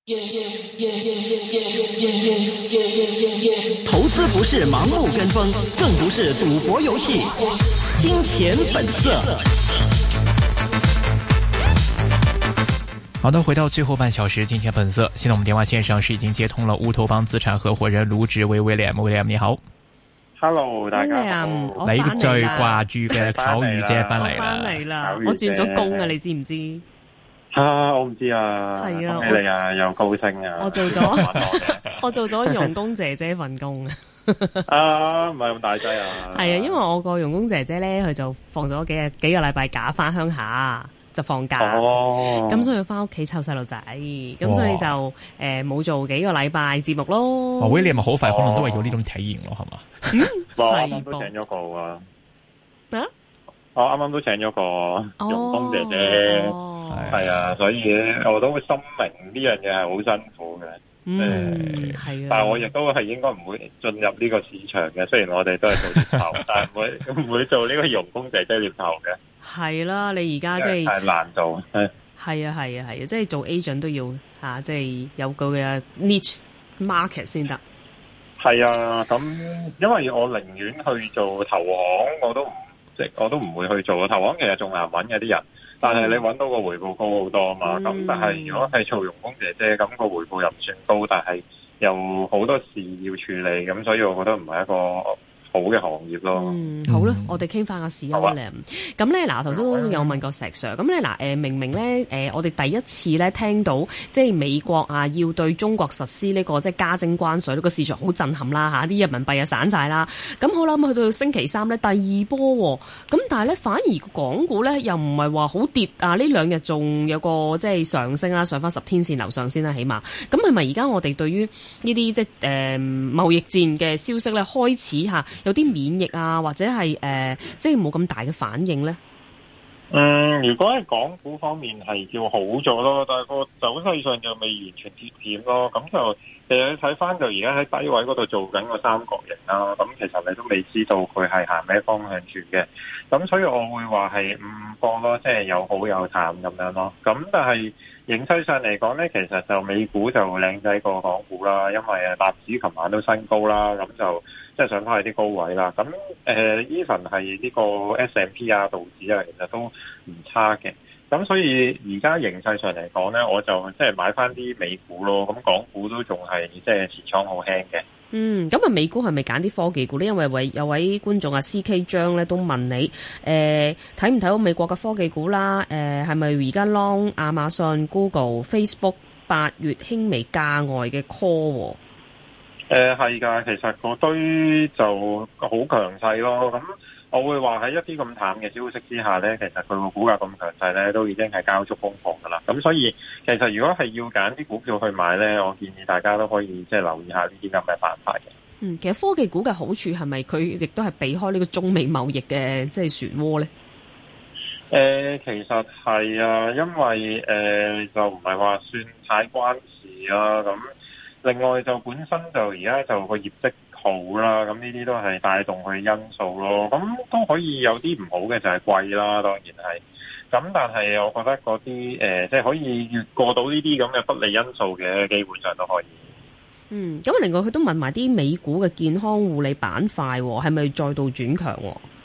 投資不是盲目跟風，更不是賭博遊戲。金錢本色。 好的，回到最後半小時，金錢本色。現在我們電話線上是已經接通了烏托邦資產合夥人盧志威 William 你好。 Hello， 大家好。 你最掛住嘅巧遇姐翻嚟啦， 翻嚟啦，我轉咗工啊，你知唔知？ 我唔知啊。係啊，恭喜你啊，又高升啊。 我做咗傭工姐姐份工啊。 唔係咁大劑啊。 係啊，因為我個傭工姐姐咧，佢就放咗幾個禮拜假翻鄉下。就放假，咁所以翻屋企湊細路仔，咁所以就冇做幾個禮拜節目咯。 William 咪好快可能都係有呢種體驗咯，係嘛？ 我啱啱都請咗個啊！我啱啱都請咗個傭工姐姐，係啊，所以我都會深明呢樣嘢係好辛苦嘅。 係啊， 但係我亦都係應該唔會進入呢個市場嘅。雖然我哋都係做獵頭，但係唔會做呢個傭工姐姐獵頭嘅。 係啦，你而家即係係難做。 係啊，即係做 agent 都要即係有個嘅 niche market 先得。 係啊，咁因為我寧願去做投行，我都唔會去做投行。其實仲難揾嘅啲人，但係你揾到個回報高好多啊嘛。咁但係如果係做傭工姐姐，咁個回報又唔算高，但係又好多事要處理，咁所以我覺得唔係一個好嘅行業咯。 好啦，我哋傾翻個市啊咧。咁咧嗱，頭先都有問過石 Sir。咁咧嗱，明明咧我哋第一次咧聽到即係美國啊要對中國實施呢個即係加徵關稅，呢個市場好震撼啦嚇，啲人民幣啊散晒啦。咁好啦，咁去到星期三咧第二波喎，咁但係咧反而港股咧又唔係話好跌啊，呢兩日仲有個即係上升啦，上翻10天線樓上先啦，起碼。咁係咪而家我哋對於呢啲即係貿易戰嘅消息咧開始嚇有啲免疫啊，或者係即係冇咁大嘅反應咧？ 如果喺港股方面係叫好咗咯，但係個走勢上就未完全跌點咯。咁就其實你睇翻就而家喺低位嗰度做緊個三角形啦。咁其實你都未知道佢係行咩方向住嘅。咁所以我會話係唔過咯，即係有好有淡咁樣咯。咁但係形勢上嚟講咧，其實就美股就靚仔過港股啦，因為納指琴晚都新高啦，咁就即係上翻去啲高位啦。咁even 係呢個 S&P 啊、道指啊，其實都唔差嘅。咁所以而家形勢上嚟講咧，我就即係買翻啲美股咯。咁港股都仲係即係持倉好輕嘅。 咁啊，美股係咪揀啲科技股咧？因為有位觀眾啊 CK 張咧都問你，睇唔睇到美國嘅科技股啦？係咪而家 long 亞馬遜、Google、Facebook 8月輕微價外嘅 call？ 係㗎，其實嗰堆就好強勢咯。咁我會話喺一啲咁淡嘅消息之下咧，其實佢個股價咁強勢咧，都已經係交足功課㗎啦。咁所以其實如果係要揀啲股票去買咧，我建議大家都可以即係留意下呢啲咁嘅板塊嘅。 其實科技股嘅好處係咪佢亦都係避開呢個中美貿易嘅即係漩渦咧？ 其實係啊，因為就唔係話算太關事啦。咁另外就本身就而家就個業績好啦，咁呢啲都係帶動佢因素咯。咁都可以有啲唔好嘅就係貴啦，當然係。咁但係我覺得嗰啲即係可以越過到呢啲咁嘅不利因素嘅，基本上都可以。 咁另外佢都問埋啲美股嘅健康護理板塊係咪再度轉強？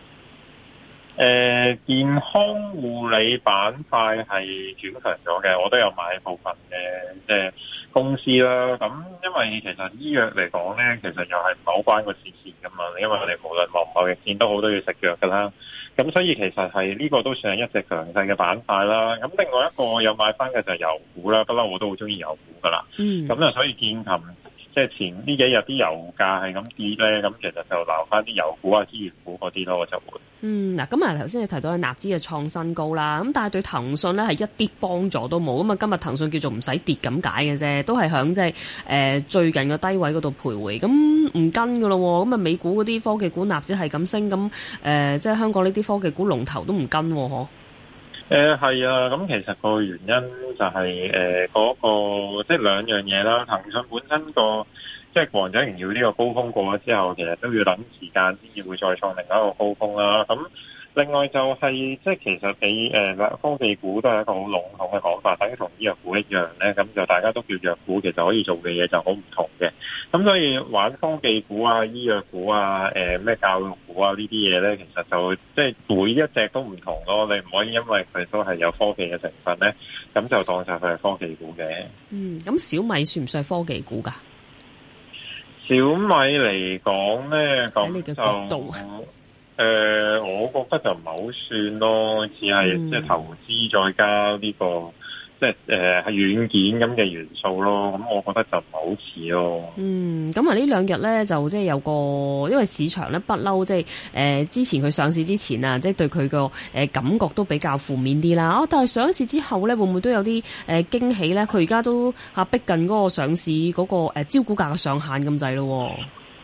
健康護理板塊係轉強咗嘅，我都有買部分嘅即係公司啦。咁因為其實醫藥嚟講咧，其實又係唔係好關個事噶嘛。因為我哋無論貿易戰都好都要食藥噶啦。咁所以其實係呢個都算係一隻強勢嘅板塊啦。咁另外一個我有買翻嘅就係油股啦，不嬲我都好中意油股噶啦。咁所以見琴即係前呢幾日啲油價係咁跌咧，咁其實就留翻啲油股啊、資源股嗰啲咯，我就會。嗱，咁啊頭先你提到嘅納指嘅創新高啦，咁但係對騰訊咧係一啲幫助都冇，咁啊今日騰訊叫做唔使跌咁解嘅啫，都係響即係最近嘅低位嗰度徘徊，咁唔跟噶咯，咁啊美股嗰啲科技股納指係咁升，咁即係香港呢啲科技股龍頭都唔跟嗬。係啊，咁其實個原因就係嗰個即係兩樣嘢啦。騰訊本身個即係王者榮耀呢個高峰過咗之後，其實都要等時間先至會再創另一個高峰啦。咁另外就係即係其實你科技股都係一個好籠統嘅講法，等於同醫藥股一樣咧，咁就大家都叫藥股，其實可以做嘅嘢就好唔同嘅。咁所以玩科技股啊、醫藥股啊、咩教育股啊呢啲嘢咧，其實就即係每一隻都唔同咯。你唔可以因為佢都係有科技嘅成分咧，咁就當晒佢係科技股嘅。 咁小米算唔算係科技股㗎？ 小米嚟講咧，咁就我覺得就唔係好算咯，只係即係投資再加呢個即係係軟件咁嘅元素咯。咁我覺得就唔係好似咯。 咁啊呢兩日咧就即係有個，因為市場咧不嬲，即係之前佢上市之前啊，即係對佢個感覺都比較負面啲啦。但係上市之後咧，會唔會都有啲驚喜咧？佢而家都逼近嗰個上市嗰個招股價嘅上限咁滯咯。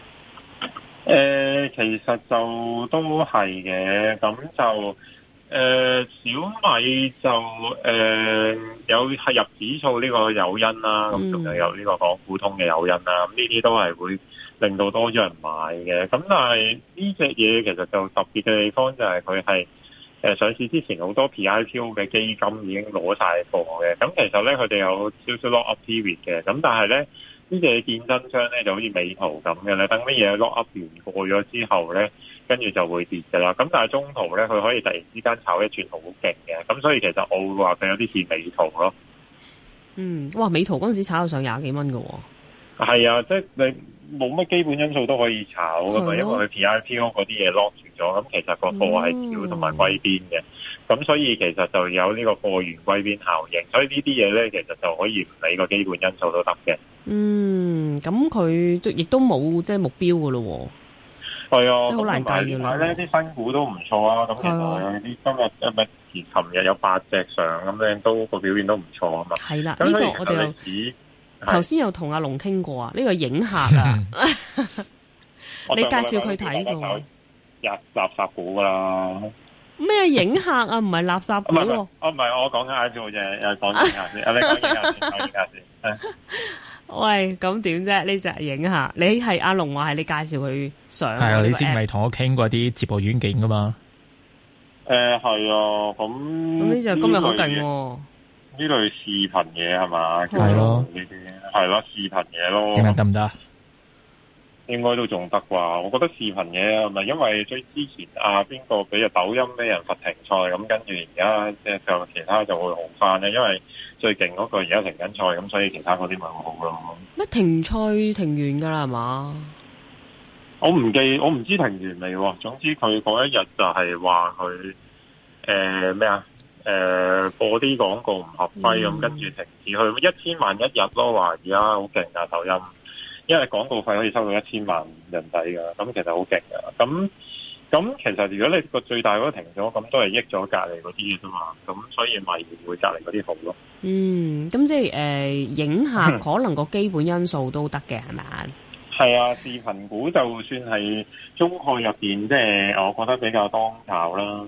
其實就都係嘅，咁就小米就有係入指數呢個誘因啦，咁仲有呢個港股通嘅誘因啦，咁呢啲都係會令到多咗人買嘅。咁但係呢隻嘢其實就特別嘅地方就係佢係上市之前好多 PIPO 嘅基金已經攞晒貨嘅，咁其實咧佢哋有少少 lock up period 嘅，咁但係咧呢隻見真章咧就好似美圖咁嘅咧，等乜嘢 lock up 完過咗之後咧，跟住就會跌㗎啦。咁但係中途咧，佢可以突然之間炒一轉好勁嘅，咁所以其實我會話佢有啲似美圖咯。 哇！美圖嗰陣時炒到上20幾蚊㗎喎。係啊，即係你冇乜基本因素都可以炒㗎嘛，因為佢 PIPO 嗰啲嘢 lock 住咗，咁其實個貨係少同埋歸邊嘅，咁所以其實就有呢個貨源歸邊效應，所以呢啲嘢咧其實就可以唔理個基本因素都得嘅。咁佢亦都冇即係目標㗎咯喎。係啊，即係好難計㗎啦。呢啲新股都唔錯啊，咁其實有啲今日琴日有8隻上，咁樣都個表現都唔錯啊嘛。係啦，呢個我哋又頭先有同阿龍傾過啊，呢個影客啊，你介紹佢睇過。垃圾股㗎啦。咩影客啊？唔係垃圾股喎。唔係，我講緊 IPO 啫，講影客先。你講影客先。喂，咁點啫？呢隻影客，你係阿龍話係你介紹佢上。係啊，你之前咪同我傾過啲節目軟件㗎嘛？係啊，咁呢隻今日好勁喎。呢類視頻嘢係嘛？係咯，呢啲係咯，視頻嘢咯。點樣得唔得？應該都仲得啩？我覺得視頻嘢係咪因為最之前邊個俾隻抖音俾人罰停賽，咁跟住而家即係就其他就會好翻咧，因為最勁嗰個而家停緊賽，咁所以其他嗰啲咪好咯。乜停賽停完㗎啦係嘛？我唔知停完未喎。總之佢嗰一日就係話佢咩啊？播啲廣告唔合規咁，跟住停止去1000萬一日咯，話而家好勁㗎抖音。因為廣告費可以收到1000萬人仔㗎，咁其實好勁㗎。咁其實如果你個最大嗰個停咗，咁都係益咗隔離嗰啲嘅啫嘛。咁所以咪會隔離嗰啲好咯。咁即係影客可能個基本因素都得嘅係咪啊？係啊，視頻股就算係中概入邊，即係我覺得比較當炒啦。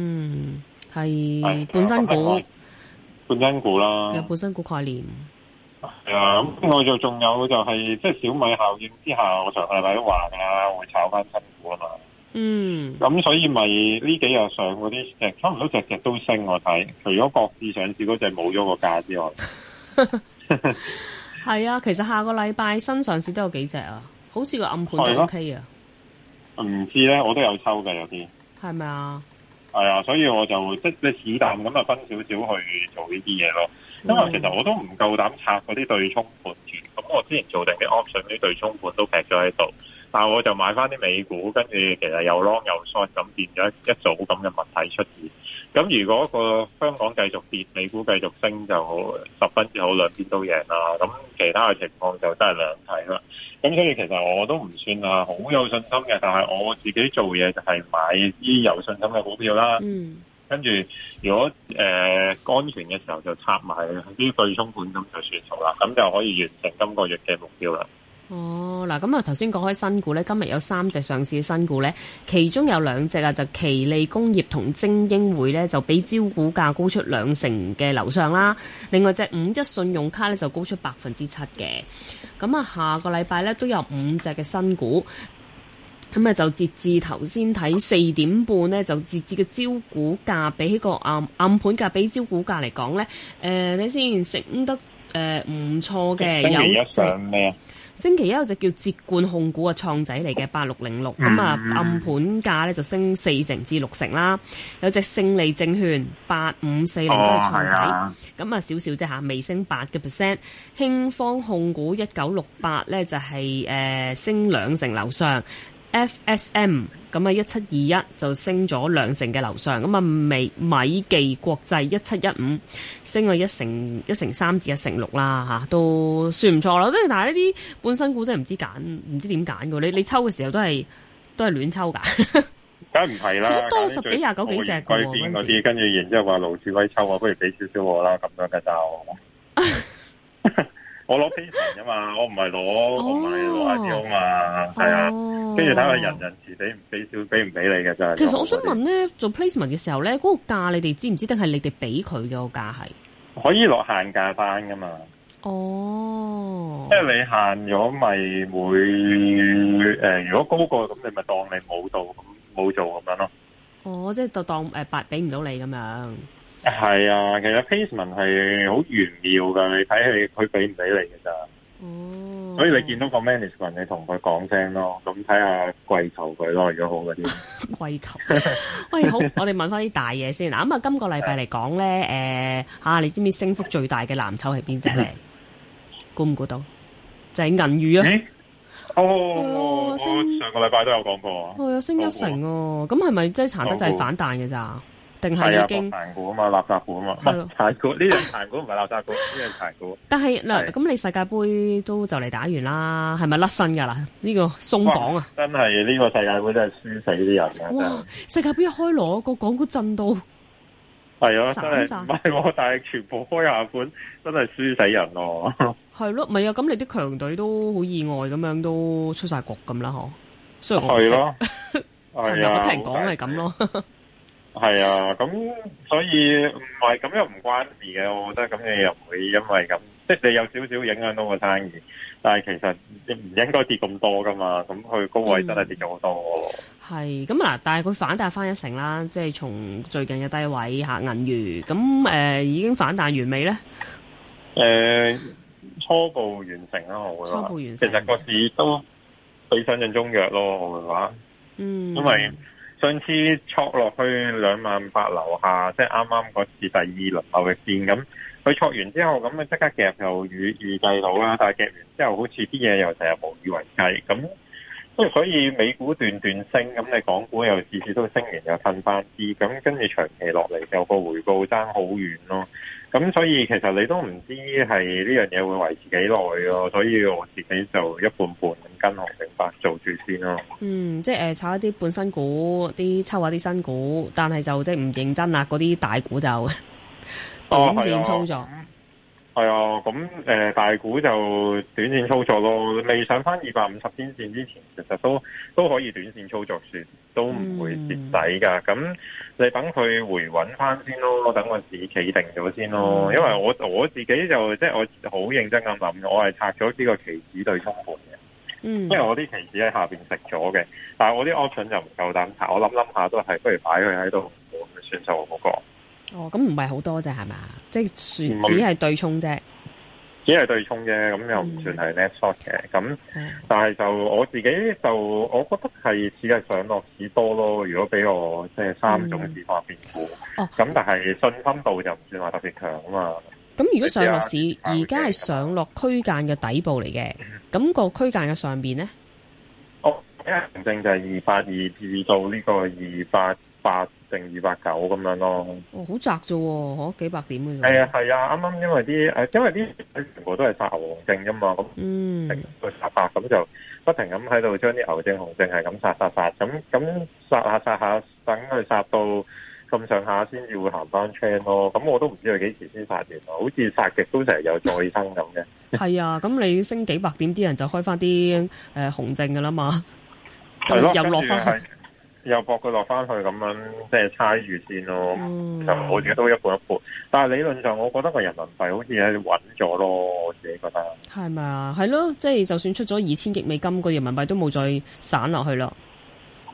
係本身股啦，有本身股概念。係啊，咁我就仲有就係即係小米效應之下，我上個禮拜都話㗎啦，會炒翻新股啊嘛。咁所以咪呢幾日上嗰啲差唔多隻隻都升，我睇除咗國資上市嗰隻冇咗個價之外。係啊，其實下個禮拜新上市都有幾隻啊，好似個暗盤都 OK 啊。唔知咧，我都有抽嘅有啲。係咪啊？係啊，所以我就即係你是但咁啊分少少去做呢啲嘢咯。因為其實我都唔夠膽拆嗰啲對沖盤住，咁我之前做定啲 option 啲對沖盤都劈咗喺度，但係我就買翻啲美股，跟住其實又 long 又 short 咁變咗一組咁嘅物體出現。咁如果個香港繼續跌，美股繼續升就好十分之好，兩邊都贏啦。咁其他嘅情況就真係兩睇啦。咁所以其實我都唔算係好有信心嘅，但係我自己做嘢就係買啲有信心嘅股票啦。跟住，如果安全嘅時候就拆埋啲對沖盤，咁就算數啦，咁就可以完成今個月嘅目標啦。嗱，咁啊頭先講開新股咧，今日有3隻上市嘅新股咧，其中有2隻啊，就奇利工業同精英匯咧，就比招股價高出20%嘅樓上啦。另外隻51信用卡咧就高出7%嘅。咁啊，下個禮拜咧都有5隻嘅新股。 咁啊，就截至頭先睇4點半咧，就截至嘅招股價比起個暗盤價比招股價嚟講咧，你先升得唔錯嘅。 星期一上咩啊？ 星期一有隻叫捷冠控股嘅創仔嚟嘅8606，咁啊暗盤價咧就升4%至6%啦。有隻勝利證券8540都係創仔，咁啊少少啫嚇，微升8%。興方控股1968咧就係升2%樓上。FSM 咁啊1721就升咗2%嘅樓上，咁啊米記國際1715升咗1成3至1成6啦嚇，都算唔錯啦。但係呢啲半新股真係唔知點揀嘅，你抽嘅時候都係亂抽㗎， 梗係唔係啦， 好多10幾20幾隻嘅喎嗰啲，跟住然之後話盧志威抽我，不如俾少少我啦，咁樣嘅就。我攞 placement 㗎嘛，我唔係攞 IPO 嘛，係啊，跟住睇下人時俾唔俾你嘅真係。 其實我想問咧，做 placement 嘅時候咧，嗰個價你哋知唔知定係你哋俾佢嘅個價係？ 可以落限價單㗎嘛？ 哦， 即係你限咗咪會如果高過咁，你咪當你冇做咁樣咯。 哦，即係就當白俾唔到你咁樣。 係啊，其實 placement 係好玄妙㗎，你睇佢俾唔俾你嘅咋。哦，所以你見到個 management， 你同佢講聲咯，咁睇下跪求佢咯，如果好嗰啲。 跪求。喂，好，我哋問翻啲大嘢先嗱。咁啊，今個禮拜嚟講咧，你知唔知升幅最大嘅藍籌係邊隻咧？估唔估到？就係銀娛啊！ 我上個禮拜都有講過啊。 係啊，升1成喎。咁係咪即係殘得滯反彈嘅咋？定係已經殘股啊嘛，垃圾股啊嘛，唔係殘股，呢樣殘股唔係垃圾股，呢樣殘股。 但係嗱，咁你世界盃都就嚟打完啦，係咪甩身㗎啦？呢個鬆綁啊！ 真係呢個世界盃真係輸死啲人㗎！ 哇！世界盃一開鑼，個港股震到係啊，真係唔係，但係全部開下盤，真係輸死人咯！ 係咯，唔係啊？咁你啲強隊都好意外咁樣都出晒局咁啦，嗬？雖然我唔識，係咪我聽人講係咁咯？ 係啊，咁所以唔係咁又唔關事嘅，我覺得咁你又唔會因為咁，即係你有少少影響到個生意，但係其實你唔應該跌咁多噶嘛，咁佢高位真係跌咗好多。 係咁嗱，但係佢反彈翻1成啦，即係從最近嘅低位嚇銀娛，咁已經反彈完未咧？ 初步完成啦，我會話。初步完成。其實個市都比想象中弱咯，我會話。因為上次挫落去28000樓下，即係啱啱嗰次第二輪後嘅線咁，佢挫完之後咁咪即刻夾又預計到啦，但係夾完之後好似啲嘢又成日無以為繼咁，即係所以美股段升，咁你港股又次次都升完又褪翻啲，咁跟住長期落嚟就個回報爭好遠咯。咁所以其實你都唔知係呢樣嘢會維持幾耐咯，所以我自己就一半半咁跟紅頂白做住先咯。即係炒一啲半新股，抽下啲新股，但係就即係唔認真啦，嗰啲大股就短線操作。 係啊，咁大股就短線操作咯，未上翻250天線之前，其實都可以短線操作算，都唔會蝕底噶。咁你等佢回穩翻先咯，等個市企定咗先咯。因為我自己就即係我好認真咁諗，我係拆咗呢個期指對沖盤嘅。因為我啲期指喺下邊食咗嘅，但係我啲 option 就唔夠膽拆，我諗下都係不如擺佢喺度咁算數嗰個。咁唔係好多啫，係嘛？即係只係對沖啫， 只係對沖啫，咁又唔算係 net short 嘅。咁但係就我自己就我覺得係似係上落市多咯。如果俾我即係3種市況變股，咁但係信心度就唔算話特別強啊嘛。咁如果上落市而家係上落區間嘅底部嚟嘅，咁個區間嘅上邊咧？ 正正就係282至到呢個288定289咁樣咯。 好窄啫喎，幾百點嘅啫。 係啊，啱啱因為啲全部都係殺牛熊證啫嘛，咁佢殺法咁就不停咁喺度將啲牛證熊證係咁殺，咁殺下，等佢殺到咁上下先至會行翻 trend 咯。咁我都唔知佢幾時先殺完，好似殺極都成日有再生咁嘅。係啊，咁你升幾百點，啲人就開翻啲熊證噶啦嘛。 係咯， 又落翻去， 又搏佢落翻去咁樣，即係猜住先咯。就我自己都一半一半，但係理論上，我覺得個人民幣好似係穩咗咯。我自己覺得係咪啊？係咯，即係就算出咗2000億美金，個人民幣都冇再散落去咯。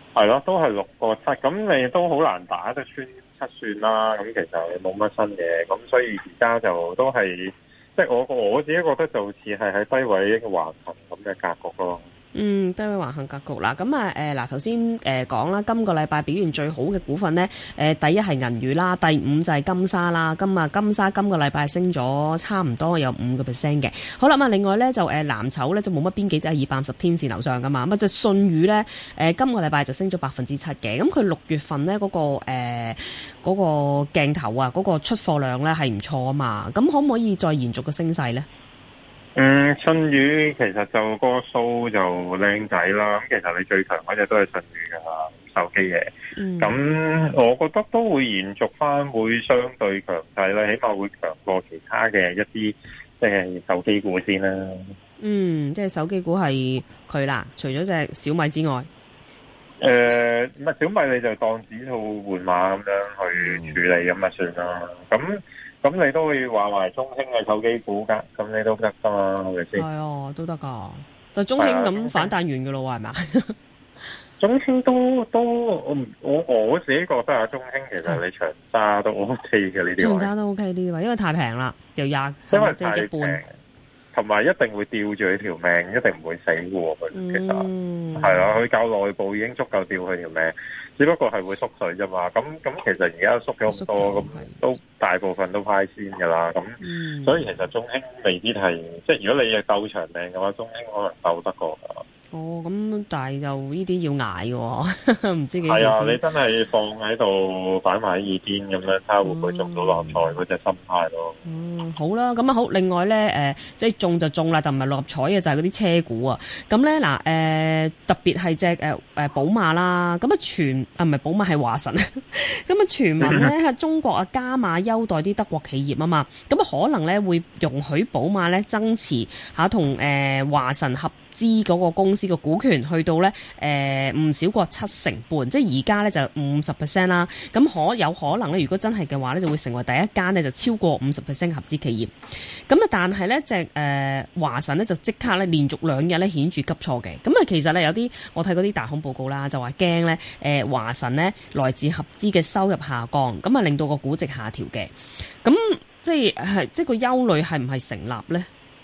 係咯，都係6.7，咁你都好難打得穿7算啦。咁其實你冇乜新嘢，咁所以而家就都係，即係我自己覺得就似係喺低位橫行咁嘅格局咯。低位橫行格局啦。咁嗱頭先講啦，今個禮拜表現最好嘅股份咧，第一係銀娛啦，第5就係金沙啦。金沙今個禮拜升咗差唔多有5%嘅。好啦，咁另外咧就藍籌咧就冇乜邊幾隻係250天線樓上噶嘛。咁就信譽咧今個禮拜就升咗7%嘅。咁佢6月份咧嗰個鏡頭啊，嗰個出貨量咧係唔錯啊嘛。咁可唔可以再延續個升勢咧？ 信譽其實就個數就靚仔啦，咁其實你最強嗰隻都係信譽噶啦，手機嘢。咁我覺得都會延續翻，會相對強勢啦，起碼會強過其他嘅一啲即係手機股先啦。即係手機股係佢啦，除咗隻小米之外。唔係小米你就當指數換馬咁樣去處理咁啊算啦。咁你都會話埋中興嘅手機股噶，咁你都得噶嘛，係咪先？係啊，都得噶。但中興咁反彈完噶咯，係咪？中興都我自己覺得啊，中興其實你長揸都 OK 嘅呢啲位。長揸都 OK 呢啲位，因為太平啦，又廿，因為太平，同埋一定會吊住佢條命，一定唔會死嘅喎。佢其實係啦，佢夠內部已經足夠吊佢條命。只不過係會縮水啫嘛，咁其實而家縮咗咁多，咁都大部分都派先噶啦，咁所以其實中興未必係，即係如果你係鬥長命嘅話，中興可能鬥得過噶。咁但係就呢啲要捱嘅，唔知幾時。係啊，你真係放喺度擺埋喺耳邊咁樣，睇下會唔會中到六合彩嗰隻心態咯。好啦，咁啊好。另外咧，即係中就中啦，但唔係六合彩嘅就係嗰啲車股啊。咁咧嗱，特別係隻寶馬啦。咁啊唔係寶馬係華晨。咁啊傳聞咧係中國啊加碼優待啲德國企業啊嘛。咁啊可能咧會容許寶馬咧增持下同華晨合資嗰個公司嘅股權去到咧唔少過7成半，即係而家咧就50% 啦。咁有可能咧，如果真係嘅話咧，就會成為第一間咧就超過50% 合資企業。咁啊，但係咧隻華晨咧就即刻咧連續2日咧顯著急挫嘅。咁啊，其實咧有啲我睇嗰啲大行報告啦，就話驚咧華晨咧來自合資嘅收入下降，咁啊令到個估值下調嘅。咁即係個憂慮係唔係成立咧？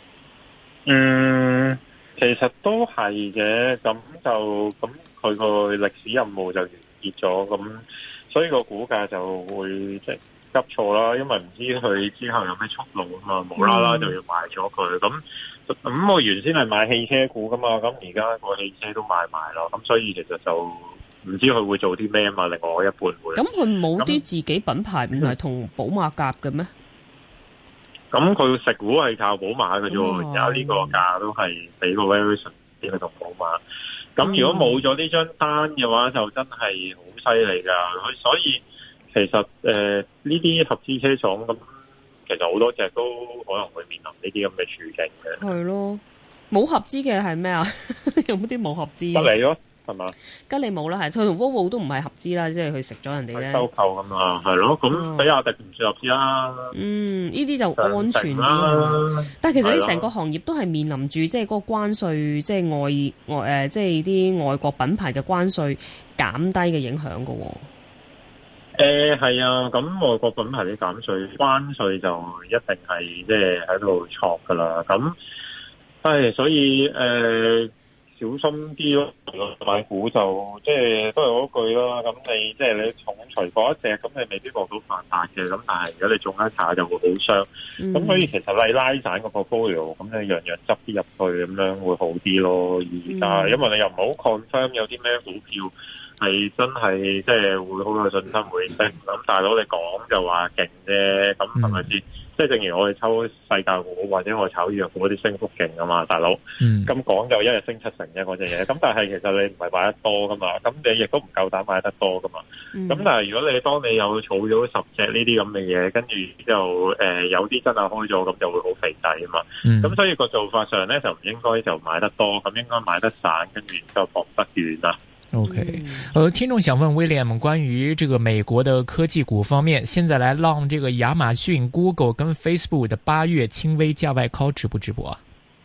其實都係嘅，咁佢個歷史任務就完結咗，咁所以個股價就會即係急挫啦，因為唔知佢之後有咩出路啊嘛，無啦啦就要賣咗佢，咁我原先係買汽車股噶嘛，咁而家個汽車都賣埋咯，咁所以其實就唔知佢會做啲咩啊嘛，另外我一半會。咁佢冇啲自己品牌唔係同寶馬夾嘅咩？咁佢食股係靠寶馬嘅啫，而家呢個價都係俾個 variation 俾佢同寶馬。咁如果冇咗呢張單嘅話，就真係好犀利噶。所以其實呢啲合資車廠咁，其實好多隻都可能會面臨呢啲咁嘅處境嘅。係咯，冇合資嘅係咩啊？有冇啲冇合資？得嚟咯。係嘛？吉利冇啦，係佢同 Volvo 都唔係合資啦，即係佢食咗人哋咧收購咁啊，係咯。咁比亞迪唔算合資啦。呢啲就安全啲。但係其實你成個行業都係面臨住即係嗰個關稅，即係外即係啲外國品牌嘅關稅減低嘅影響噶。係啊，咁外國品牌啲減稅關稅就一定係即係喺度挫噶啦。咁所以小心啲咯，買股就即係都係嗰句啦。咁你即係你重除嗰一隻，咁你未必獲到反彈嘅。咁但係如果你中一下就會好傷。咁所以其實你拉散個 portfolio，咁你樣樣執啲入去，咁樣會好啲咯。而家因為你又唔好 confirm 有啲咩股票係真係即係會好有信心會升。咁大佬你講就話勁啫，咁係咪先？即係正如我哋抽世界股或者我炒藥股嗰啲升幅勁啊嘛，大佬。咁講就一日升7成啫嗰隻嘢。咁但係其實你唔係買得多噶嘛，咁你亦都唔夠膽買得多噶嘛。咁但係如果當你有儲咗10隻呢啲咁嘅嘢，跟住之後有啲真係開咗，咁就會好肥仔啊嘛。咁所以個做法上咧就唔應該就買得多，咁應該買得散，跟住就放得遠啦。 OK，聽眾想問 William 關於這個美國的科技股方面，現在來讓這個亞馬遜、Google 跟 Facebook 的8月輕微價外 call 值不值博啊？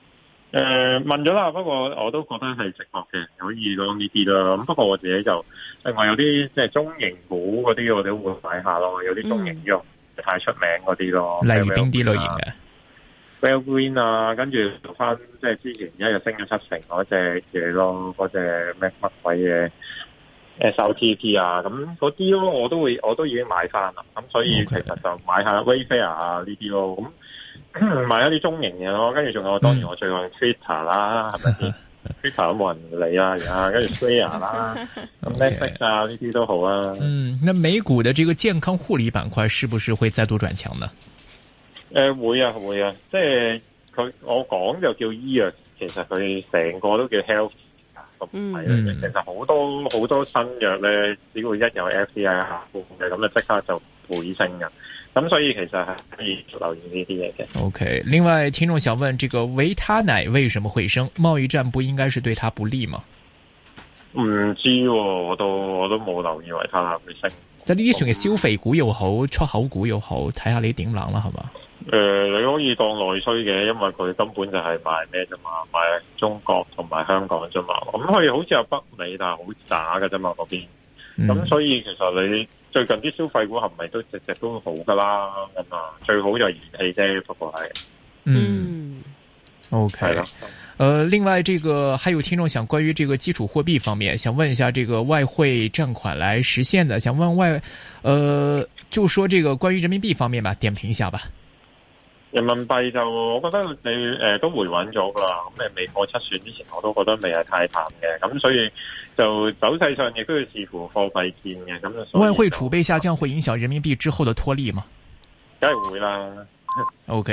問咗啦，不過我都覺得係值博嘅，可以講呢啲啦。咁不過我自己就另外有啲即係中型股嗰啲，我哋都會買下咯。有啲中型又太出名嗰啲咯。 例如邊啲類型嘅 Well Green 啊，跟住做翻即係之前一日升咗70%嗰隻嘢咯，嗰隻乜鬼嘢 SLTP 啊，咁嗰啲咯，我都已經買翻啦。咁所以其實就買下 Wayfair 啊呢啲咯，咁買一啲中型嘅咯。跟住仲有當然我最愛 Twitter 啦，係咪先？Twitter 都冇人理啊，而家跟住 Square 啦，咁 Netflix 啊呢啲都好啊。 那美股的這個健康護理板塊是不是會再度轉強呢？ 會啊，即係我講就叫醫藥，其實佢成個都叫 health 咁係啦。其實好多新藥咧，只要一有 FDI 下嘅，咁就即刻就倍升噶。咁所以其實係可以留意呢啲嘢嘅。 OK， 另外聽眾想問，這個維他奶為什麼會升？貿易戰不應該是對它不利嗎？ 唔知喎，我都冇留意維他奶會升。即係呢啲算係消費股又好，出口股又好，睇下你點諗啦，係嘛？ 你可以當內需嘅，因為佢根本就係賣咩啫嘛，賣中國同埋香港啫嘛。咁佢好似有北美，但係好渣㗎啫嘛嗰邊。咁所以其實你最近啲消費股係咪都隻隻都好噶啦？咁啊，最好就係燃氣啫，不過係。 OK。係啦。另外這個還有聽眾想關於這個基礎貨幣方面，想問一下這個外匯佔款來實現的，想問就說這個關於人民幣方面吧，點評一下吧。 人民幣就我覺得你都回穩咗噶啦，咁你未過7選之前，我都覺得未係太淡嘅，咁所以就走勢上亦都要視乎貨幣戰嘅。咁外匯儲備下降會影響人民幣之後的脫離嗎？ 梗係會啦。 OK。